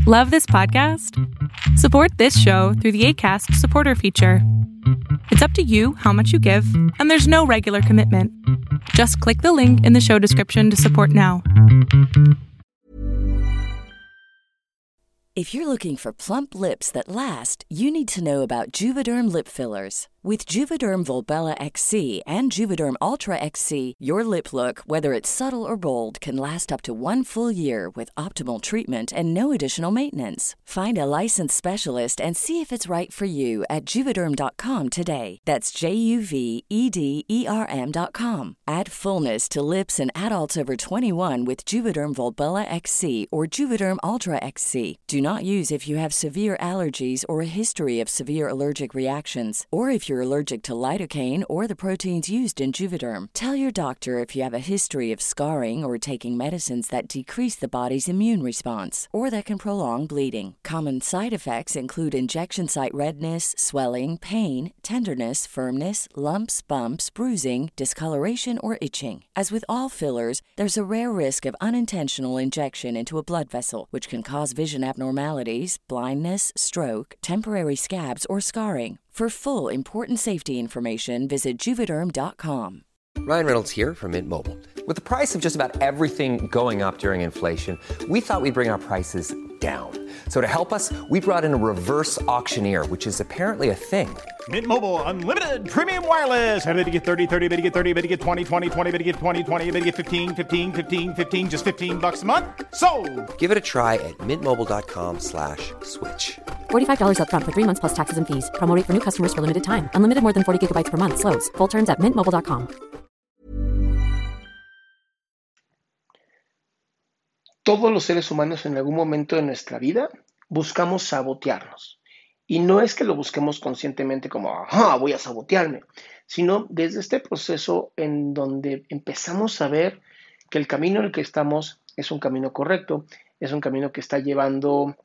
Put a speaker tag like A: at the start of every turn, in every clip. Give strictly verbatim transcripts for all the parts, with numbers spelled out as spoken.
A: Love this podcast? Support this show through the Acast supporter feature. It's up to you how much you give, and there's no regular commitment. Just click the link in the show description to support now.
B: If you're looking for plump lips that last, you need to know about Juvederm lip fillers. With Juvederm Volbella X C and Juvederm Ultra X C, your lip look, whether it's subtle or bold, can last up to one full year with optimal treatment and no additional maintenance. Find a licensed specialist and see if it's right for you at Juvederm dot com today. That's J U V E D E R M dot com. Add fullness to lips in adults over twenty-one with Juvederm Volbella X C or Juvederm Ultra X C. Do not use if you have severe allergies or a history of severe allergic reactions, or if you're allergic to lidocaine or the proteins used in Juvederm. Tell your doctor if you have a history of scarring or taking medicines that decrease the body's immune response or that can prolong bleeding. Common side effects include injection site redness, swelling, pain, tenderness, firmness, lumps, bumps, bruising, discoloration, or itching. As with all fillers, there's a rare risk of unintentional injection into a blood vessel, which can cause vision abnormalities, blindness, stroke, temporary scabs, or scarring. For full, important safety information, visit Juvederm dot com.
C: Ryan Reynolds here from Mint Mobile. With the price of just about everything going up during inflation, we thought we'd bring our prices down. So to help us, we brought in a reverse auctioneer, which is apparently a thing.
D: Mint Mobile Unlimited Premium Wireless. How to get thirty, thirty, how to get thirty, how to get twenty, twenty, twenty, how to get twenty, twenty, how to get fifteen, fifteen, fifteen, fifteen, just fifteen bucks a month? Sold!
C: Give it a try at mintmobile.com slash switch.
E: forty-five dollars up front for three months plus taxes and fees. Promo rate for new customers for limited time. Unlimited more than forty gigabytes per month. Slows full terms at mint mobile dot com.
F: Todos los seres humanos en algún momento de nuestra vida buscamos sabotearnos. Y no es que lo busquemos conscientemente como, ajá, voy a sabotearme, sino desde este proceso en donde empezamos a ver que el camino en el que estamos es un camino correcto, es un camino que está llevando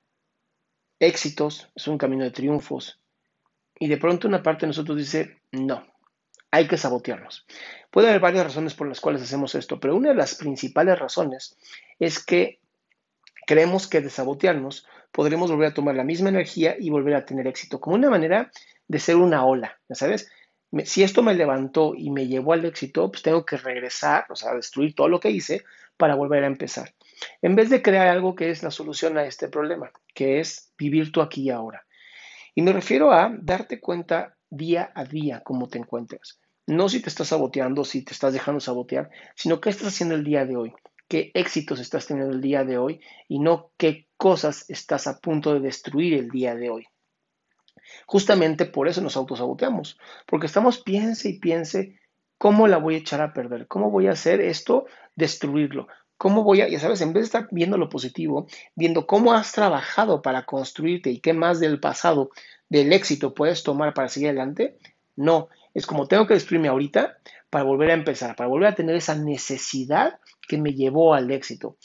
F: éxitos, es un camino de triunfos. Y de pronto una parte de nosotros dice, no, hay que sabotearnos. Puede haber varias razones por las cuales hacemos esto, pero una de las principales razones es que creemos que de sabotearnos podremos volver a tomar la misma energía y volver a tener éxito, como una manera de ser una ola, ¿ya sabes? Si esto me levantó y me llevó al éxito, pues tengo que regresar, o sea, destruir todo lo que hice para volver a empezar. En vez de crear algo que es la solución a este problema, que es vivir tú aquí y ahora. Y me refiero a darte cuenta día a día cómo te encuentras. No si te estás saboteando, si te estás dejando sabotear, sino qué estás haciendo el día de hoy, qué éxitos estás teniendo el día de hoy y no qué cosas estás a punto de destruir el día de hoy. Justamente por eso nos autosaboteamos, porque estamos piense y piense cómo la voy a echar a perder, cómo voy a hacer esto, destruirlo, cómo voy a, ya sabes, en vez de estar viendo lo positivo, viendo cómo has trabajado para construirte y qué más del pasado, del éxito puedes tomar para seguir adelante, no, es como tengo que destruirme ahorita para volver a empezar, para volver a tener esa necesidad que me llevó al éxito.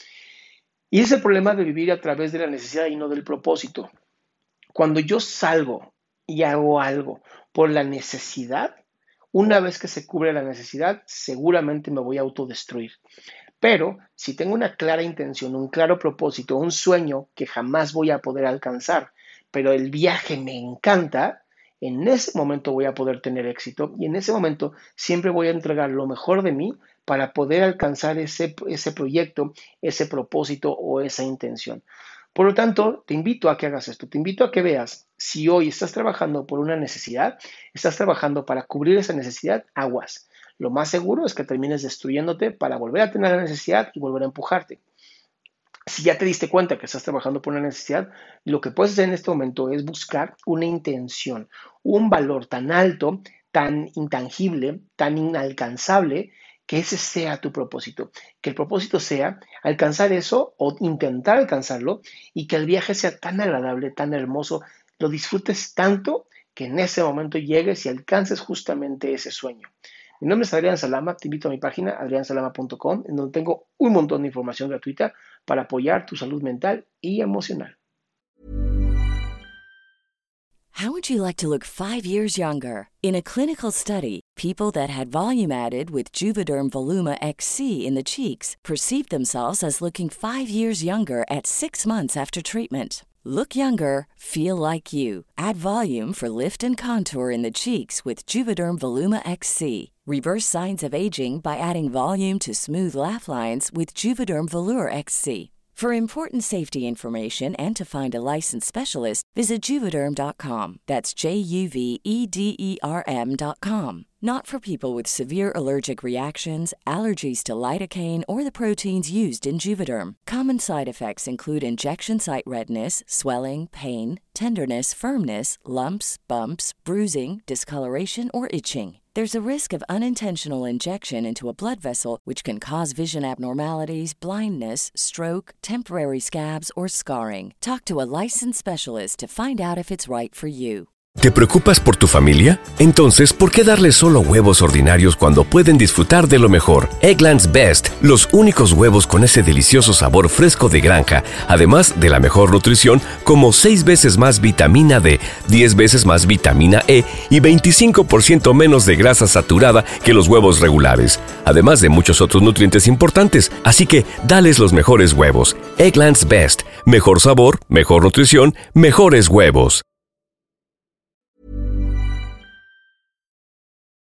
F: Y es el problema de vivir a través de la necesidad y no del propósito. Cuando yo salgo y hago algo por la necesidad, una vez que se cubre la necesidad, seguramente me voy a autodestruir. Pero si tengo una clara intención, un claro propósito, un sueño que jamás voy a poder alcanzar, pero el viaje me encanta, en ese momento voy a poder tener éxito y en ese momento siempre voy a entregar lo mejor de mí para poder alcanzar ese, ese proyecto, ese propósito o esa intención. Por lo tanto, te invito a que hagas esto, te invito a que veas si hoy estás trabajando por una necesidad, estás trabajando para cubrir esa necesidad, aguas. Lo más seguro es que termines destruyéndote para volver a tener la necesidad y volver a empujarte. Si ya te diste cuenta que estás trabajando por una necesidad, lo que puedes hacer en este momento es buscar una intención, un valor tan alto, tan intangible, tan inalcanzable, que ese sea tu propósito. Que el propósito sea alcanzar eso o intentar alcanzarlo y que el viaje sea tan agradable, tan hermoso, lo disfrutes tanto que en ese momento llegues y alcances justamente ese sueño. Mi nombre es Adrián Salama, te invito a mi página adrian salama punto com, en donde tengo un montón de información gratuita para apoyar tu salud mental y emocional.
B: How would you like to look five years younger? In a clinical study, People that had volume added with Juvederm Voluma X C in the cheeks perceived themselves as looking five years younger at six months after treatment. Look younger, feel like you. Add volume for lift and contour in the cheeks with Juvederm Voluma X C. Reverse signs of aging by adding volume to smooth laugh lines with Juvederm Volure X C. For important safety information and to find a licensed specialist, visit Juvederm dot com. That's J U V E D E R M dot com. Not for people with severe allergic reactions, allergies to lidocaine, or the proteins used in Juvederm. Common side effects include injection site redness, swelling, pain, tenderness, firmness, lumps, bumps, bruising, discoloration, or itching. There's a risk of unintentional injection into a blood vessel, which can cause vision abnormalities, blindness, stroke, temporary scabs, or scarring. Talk to a licensed specialist to find out if it's right for you.
G: ¿Te preocupas por tu familia? Entonces, ¿por qué darles solo huevos ordinarios cuando pueden disfrutar de lo mejor? Eggland's Best, los únicos huevos con ese delicioso sabor fresco de granja, además de la mejor nutrición, como seis veces más vitamina D, diez veces más vitamina E y veinticinco por ciento menos de grasa saturada que los huevos regulares, además de muchos otros nutrientes importantes. Así que, dales los mejores huevos. Eggland's Best, mejor sabor, mejor nutrición, mejores huevos.